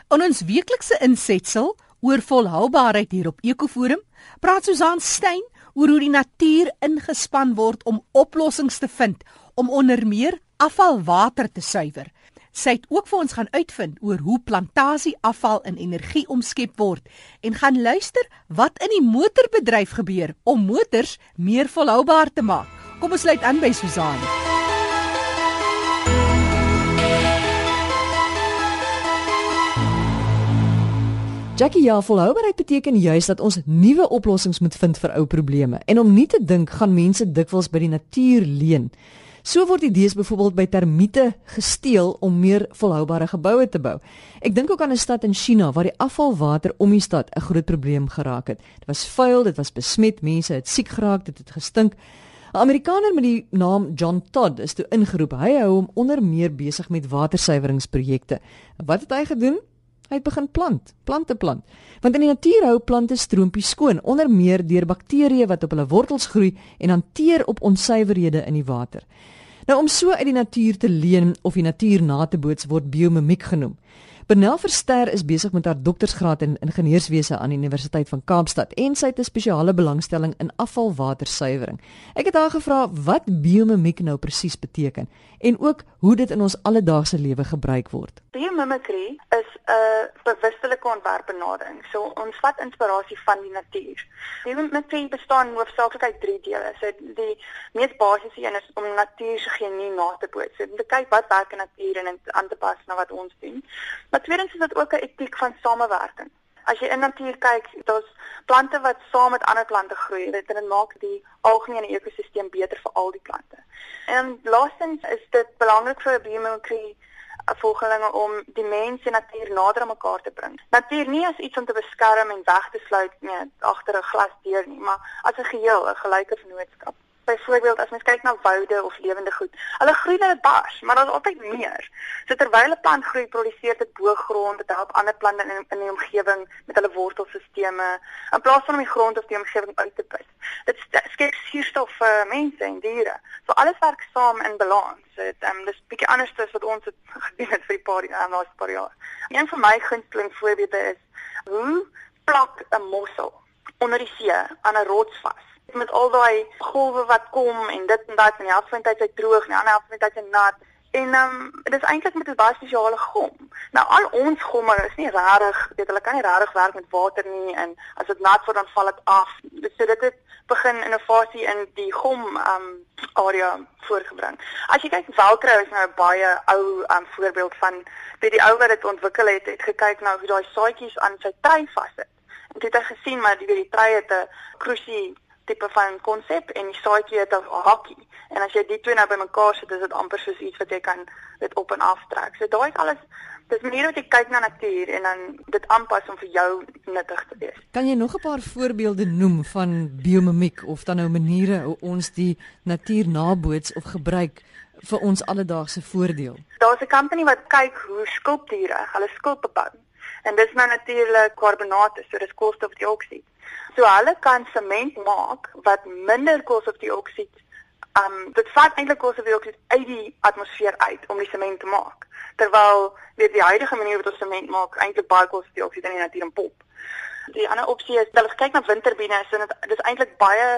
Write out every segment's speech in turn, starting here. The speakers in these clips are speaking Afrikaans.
In ons weeklikse insetsel oor volhoubaarheid hier op Ekoforum, praat Susan Stein oor hoe die natuur ingespan word om oplossings te vind om onder meer afvalwater te suiwer. Sy het ook vir ons gaan uitvind oor hoe plantasieafval in energie omskep word en gaan luister wat in die motorbedryf gebeur om motors meer volhoubaar te maak. Kom ons sluit aan by Susan. Jackie, ja, volhoubaarheid beteken juist dat ons nuwe oplossings moet vind vir ou probleme. En om nie te dink, gaan mense dikwels by die natuur leen. So word idees byvoorbeeld by termiete gesteel om meer volhoubare geboue te bou. Ek dink ook aan 'n stad in China waar die afvalwater om die stad 'n groot probleem geraak het. Dit was vuil, dit was besmet, mense het siek geraak, dit het gestink. 'n Amerikaner met die naam John Todd is toe ingeroep. Hy hou hom onder meer besig met watersuiweringsprojekte. Wat het hy gedoen? Hy het begin plante plant. Want in die natuur hou plante stroompies skoon, onder meer deur bakterieë wat op hulle wortels groei en hanteer op onsuiverhede in die water. Nou om so uit die natuur te leen of die natuur na te boots word biomimiek genoem. Bernel Verster is besig met haar doktorsgraad in ingenieurswese aan die Universiteit van Kaapstad en sy het 'n spesiale belangstelling in afvalwatersuiwering. Ek het haar gevra wat biomimiek nou presies beteken en ook hoe dit in ons alledaagse lewe gebruik word. Biomimicry is 'n bewustelike ontwerpbenadering. So ons vat inspirasie van die natuur. Biomimicry bestaan hoofsaaklik uit 3 dele. So die mees basiese een is om natuur se genie na te boots. So te kyk wat werk in natuur en dit aan te pas na wat ons doen. Maar tweedens is dit ook 'n etiek van samewerking. As jy in natuur kyk, daar's plante wat saam met ander plante groei. Dit maak die algemene ekosisteem beter vir al die plante. En laastens is dit belangrik vir biomimicry volgelinge om die mens en natuur nader aan mekaar te bring. Natuur nie as iets om te beskerm en weg te sluit agter 'n glasdeur nie, maar as 'n geheel, 'n gelyke vennootskap. Byvoorbeeld as mens kyk na woude of lewende goed, hulle groei net bars, maar daar's altyd meer. So terwyl 'n plant groei, produseer dit bo grond, dit help ander plante in die omgewing met hulle wortelsisteme, in plaas van om die grond of die omgewing uit te put. Dit skep suurstof vir mense en diere. So alles werk saam in balans. Dis bietjie anders as wat ons het gedoen het vir die laaste paar jaar. Een van my gunsteling voorbeelde is hoe plak 'n mossel onder die see aan 'n rots vas. Met al daai golwe wat kom en dit en dat en die helfte van die tyd is hy droog en die ander helfte van die tyd is hy nat. En dit is eintlik met 'n baie spesiale gom. Nou al ons gomme is nie regtig, hulle kan nie regtig werk met water nie en as dit nat word dan val dit af. So dit het begin innovasie in die gom area voorgebring. As jy kyk, Velcro is nou 'n baie ou voorbeeld van die ou wat dit ontwikkel het gekyk na hoe daai saadjies aan sy trei vassit. En dit het hy gesien maar die trei het 'n kruisie tipe van konsep en die saadjie het 'n hakkie. En as jy die twee nou bymekaar sit, is dit amper soos iets wat jy kan dit op en af trek. So daai is alles, dis maniere wat jy kyk na natuur en dan dit aanpas om vir jou nuttig te wees. Kan jy nog 'n paar voorbeelde noem van biomimiek of dan nou maniere hoe ons die natuur naboots of gebruik vir ons alledaagse voordeel? Daar's 'n company wat kyk hoe skulpdiere hulle skulpe bou. En dis nou natuurlik karbonate, so dis koolstofdioksied. So hulle kan sement maak wat minder koolstofdioksied, dit vat eintlik koolstofdioksied uit die atmosfeer uit om die sement te maak. Terwyl die huidige manier wat ons sement maak eintlik baie koolstofdioksied in die natuur pomp. Die ander opsie is hulle kyk na windturbines en dit is eintlik baie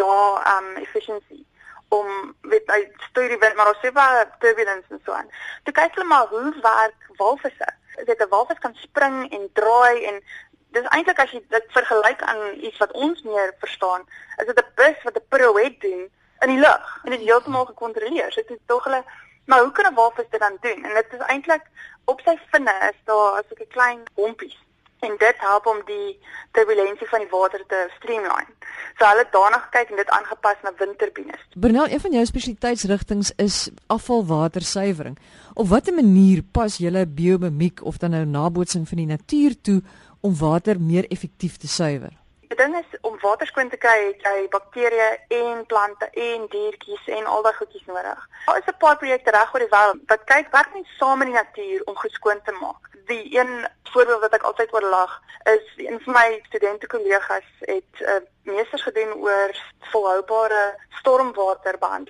lae efficiency om hy stuur die wind, maar daar's baie turbulence en so aan. Toe kyk hulle maar hoe werk walvisse. 'n walvis kan spring en draai en dis eintlik as jy dit vergelyk aan iets wat ons meer verstaan, is dit 'n bus wat 'n pirouette doen in die lug en dit is heeltemal gekontroleer. So dit is tog hulle, maar hoe kan 'n walvis dit dan doen? En dit is eintlik op sy vinne is daar so 'n klein hompies en dit help om die turbulensie van die water te streamline. So hulle het daarna gekyk en dit aangepas na windturbines. Bernel, een van jou spesialiteitsrigtings is afvalwatersuiwering. Op watter manier pas julle biomimiek of dan nou nabootsing van die natuur toe om water meer effektief te suiwer? Die ding is, om water skoon te kry, het jy bakterieë en plante en diertjies en al daai goedjies nodig. Daar is 'n paar projekte reg oor die wêreld wat werk net saam met die natuur om goed skoon te maak. Die een voorbeeld wat ek altyd oorlag is, een van my studente-kollegas het meesters gedoen oor volhoubare stormwaterbehandeling.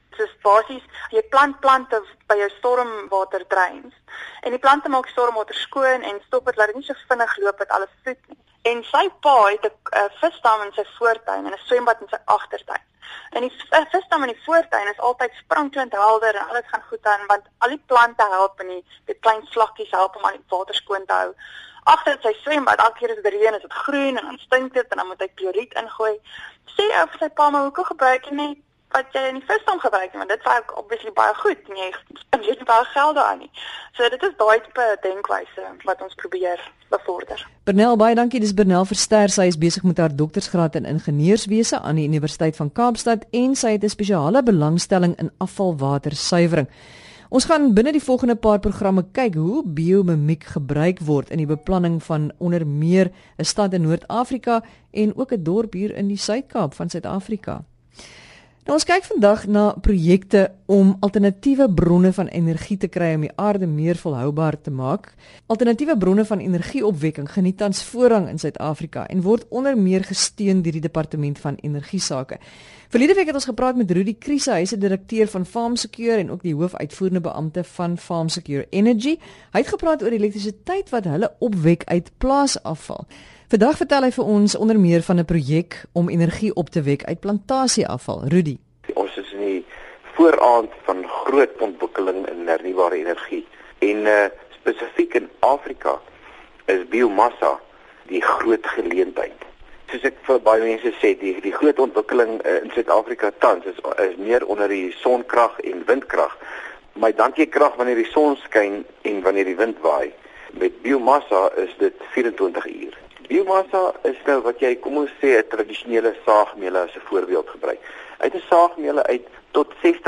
Soos basies, jy plant plante by jou stormwaterdreins en die plante maak stormwater skoon en stop dit dat dit nie so vinnig loop dat alles vloed nie. En sy pa het 'n visdam in sy voortuin en 'n swembad in sy agtertuin. En die visdam in die voortuin is altyd sprankelend helder en alles gaan goed aan want al die plante help en die klein slakkies help om al die water skoon te hou. Agter sy swembad, elke keer as dit reën is dit groen en dan stink dit en dan moet hy kloried ingooi. Sê ou vir sy pa, maar hoekom gebruik jy nie wat jy in die visdam gebruik nie, want dit werk obviously baie goed en jy spandeer nie baie geld daaraan nie. So dit is daai tipe denkwyse wat ons probeer bevorder. Bernel, baie dankie. Dis Bernel Verster. Sy is besig met haar doktorsgraad in ingenieurswese aan die Universiteit van Kaapstad en sy het 'n spesiale belangstelling in afvalwatersuiwering. Ons gaan binne die volgende paar programme kyk hoe biomimiek gebruik word in die beplanning van onder meer 'n stad in Noord-Afrika en ook 'n dorp hier in die Suid-Kaap van Suid-Afrika. Nou, ons kyk vandag na projekte om alternatiewe bronne van energie te kry om die aarde meer volhoubaar te maak. Alternatiewe bronne van energieopwekking geniet tans voorrang in Suid-Afrika en word onder meer gesteun deur die Departement van Energiesake. Verlede week het ons gepraat met Rudy Kriese, hy is 'n direkteur van FarmSecure en ook die hoofuitvoerende beampte van FarmSecure Energy. Hy het gepraat oor elektrisiteit wat hulle opwek uit plaasafval. Vandag vertel hy vir ons onder meer van 'n projek om energie op te wek uit plantasieafval. Rudy. Ons is in die vooraand van groot ontwikkeling in hernubare energie. En spesifiek in Afrika is biomassa die groot geleentheid. Soos ek vir baie mense sê, die groot ontwikkeling in Suid-Afrika tans is meer onder die sonkrag en windkrag. Maar dan jy krag wanneer die son skyn en wanneer die wind waai. Met biomassa is dit 24 uur. Biomassa is nou wat jy, kom ons sê, 'n tradisionele saagmeule as 'n voorbeeld gebruik. Uit 'n saagmeule uit tot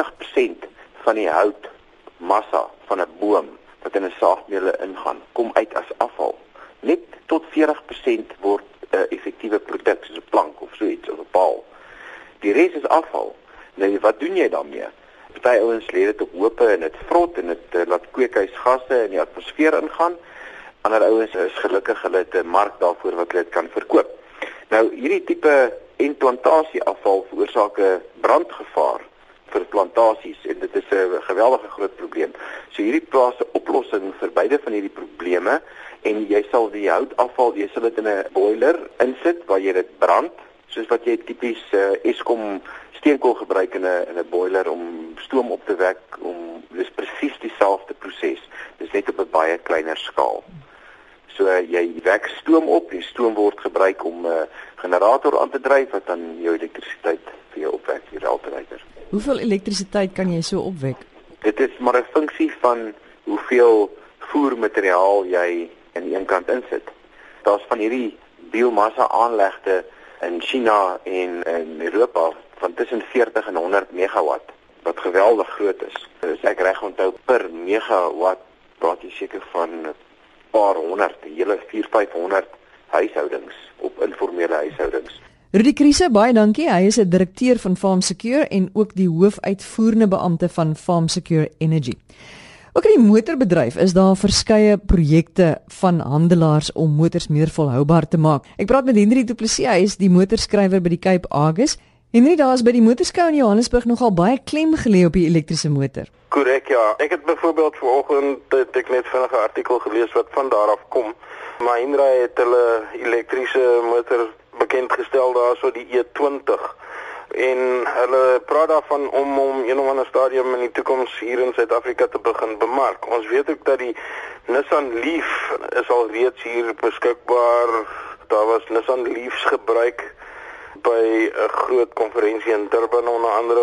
60% van die houtmassa van 'n boom wat in 'n saagmeule ingaan, kom uit as afval. Net tot 40% word 'n effektiewe produk soos 'n plank of so iets of 'n paal. Die res is afval. Nou wat doen jy daarmee? Party ouens lê dit op hoope en dit vrot en dit laat kweekhuisgasse in die atmosfeer ingaan. Ander ouens is gelukkig hulle het 'n mark daarvoor wat hulle dit kan verkoop. Nou hierdie tipe implantasieafval veroorsaak 'n brandgevaar vir plantasies en dit is 'n geweldige groot probleem. So hierdie plaas 'n oplossing vir beide van hierdie probleme en jy sal die houtafval, jy sal dit in 'n boiler insit waar jy dit brand, soos wat jy tipies Eskom steenkool gebruik in 'n boiler om stoom op te wek, dis presies dieselfde proses. Dis net op 'n baie kleiner skaal. So jy wek stoom op, die stoom word gebruik om 'n generator aan te dryf wat dan jou elektrisiteit vir jou opwek, die alternator. Hoeveel elektrisiteit kan jy so opwek? Dit is maar 'n funksie van hoeveel voermateriaal jy aan die een kant insit. Daar's van hierdie biomassa aanlegte in China en in Europa van tussen 40 en 100 megawatt wat geweldig groot is. As ek reg onthou, per megawatt praat jy seker van 'n paar honderd, hele 400-500 huishoudings op informele huishoudings. Rudy Kriese, baie dankie. Hy is 'n direkteur van FarmSecure en ook die hoofuitvoerende beampte van FarmSecure Energy. Ook in die motorbedryf is daar verskeie projekte van handelaars om motors meer volhoubaar te maak. Ek praat met Henry Du Plessis, hy is die motorskrywer by die Cape Argus. Henry, daar is by die motorskou in Johannesburg nogal baie klem gelê op die elektriese motor. Korrek, ja. Ek het byvoorbeeld vanoggend ek net vinnig 'n artikel gelees wat van daar af kom. Mahindra het hulle elektriese motor bekend gestel daarso die E20 en hulle praat daarvan om een of ander stadium in die toekoms hier in Suid-Afrika te begin bemark. Ons weet ook dat die Nissan Leaf is al reeds hier beskikbaar. Daar was Nissan Leafs gebruik by 'n groot konferensie in Durban onder andere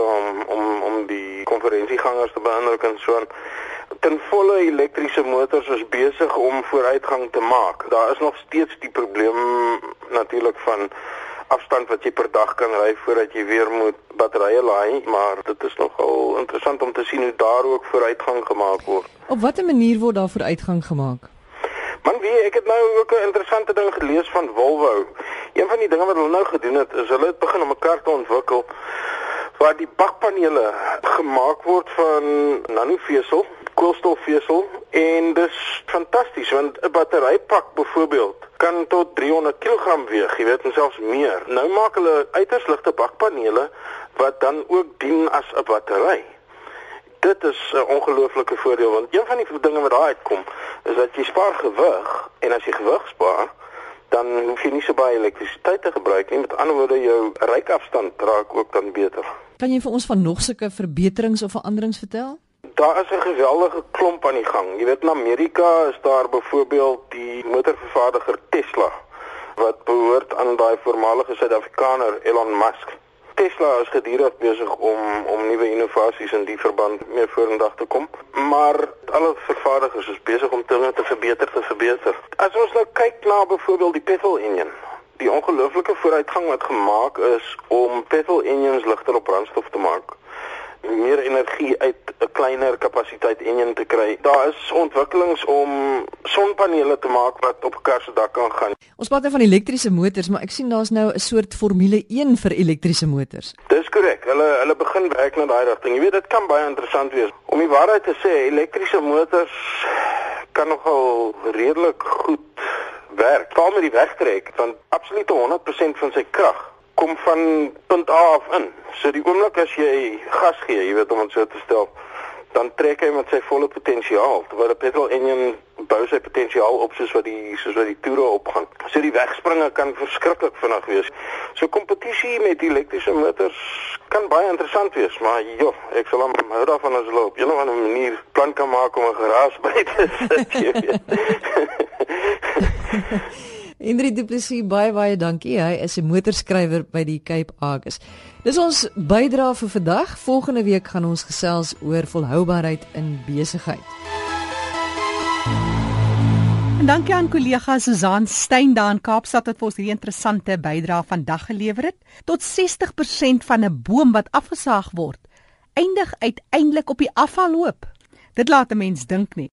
om die konferensiegangers te beïndruk en so aan. Ten volle elektriese motors is besig om vooruitgang te maak. Daar is nog steeds die probleem natuurlik van afstand wat jy per dag kan ry voordat jy weer moet batterye laai, maar dit is nogal interessant om te sien hoe daar ook vooruitgang gemaak word. Op watter manier word daar vooruitgang gemaak? Man, ek het nou ook 'n interessante ding gelees van Volvo. Een van die dinge wat hulle nou gedoen het, is hulle het begin om 'n kar te ontwikkel waar die bakpanele gemaak word van nanovesel, koolstofvesel en dis fantasties want 'n batterypak byvoorbeeld kan tot 300 kg weeg, jy weet, en selfs meer. Nou maak hulle uiters ligte bakpanele wat dan ook dien as 'n battery. Dit is 'n ongelooflike voordeel want een van die dinge wat daar uitkom is dat jy spaar gewig en as jy gewig spaar, dan hoef jy nie so baie elektrisiteit te gebruik nie. Met ander woorde, jou reikafstand raak ook dan beter. Kan jy vir ons van nog sulke verbeterings of veranderings vertel? Daar is 'n geweldige klomp aan die gang. Jy weet, in Amerika is daar byvoorbeeld die motorvervaardiger Tesla wat behoort aan daai voormalige Suid-Afrikaner Elon Musk. Tesla is gedurig besig om nuwe innovasies in die verband mee vorendag te kom, maar alle vervaardigers is besig om dinge te verbeter. As ons nou kyk na byvoorbeeld die petrol engine, die ongelooflike vooruitgang wat gemaak is om petrol engines ligter op brandstof te maak, meer energie uit 'n kleiner kapasiteit engine te kry. Daar is ontwikkelings om sonpanele te maak wat op 'n kar se dak kan gaan. Ons praat nou van elektriese motors, maar ek sien daar's nou 'n soort Formule 1 vir elektriese motors. Dis korrek. Hulle begin werk na daai rigting. Jy weet, dit kan baie interessant wees. Om die waarheid te sê, elektriese motors kan nogal redelik goed werk. Veral met die wegtrek, want absoluut 100% van sy krag kom van punt A af in. So die oomblik as jy gas gee, jy weet om dit so te stel, dan trek hy met sy volle potensiaal. Terwyl 'n petrol engine bou sy potensiaal op soos wat die toere opgaan. So die wegspringe kan verskriklik vinnig wees. So kompetisie met elektriese motors kan baie interessant wees, maar joh, ek sal hou daarvan as hulle op 'n of ander manier plan kan maak om 'n garage by te sit, jy weet. Hendrik Du Plessis, baie dankie. Hy is 'n motorskrywer by die Cape Argus. Dis ons bydrae vir vandag. Volgende week gaan ons gesels oor volhoubaarheid in besigheid. En dankie aan kollega Susan Stein daar in Kaapstad wat vir ons hierdie interessante bydrae vandag gelewer het. Tot 60% van 'n boom wat afgesaag word, eindig uiteindelik op die afvalhoop. Dit laat 'n mens dink nie.